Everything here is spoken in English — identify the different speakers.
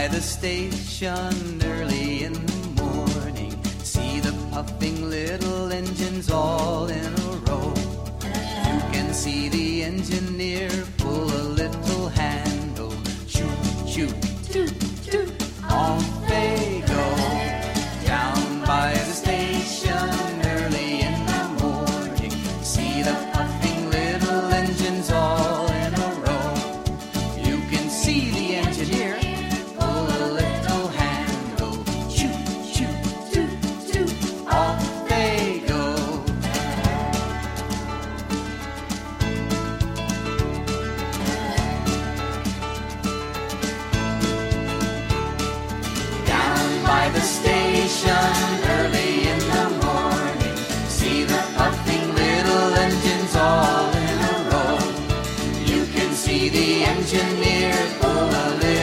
Speaker 1: by the station early in the morning. See the puffing little engines all in a row. You can see the engineer pull a little handle. Shoot, shoot, toot, toot. Off they go. Down by the station early in the morning. See the puffing little engines all in a row. You can see the engineer pull a little handle. Shoot, shoot, toot, toot. Off they go. Down by the station early in the morning. See the puffing little engines all in a row. You can see the engineer pull a little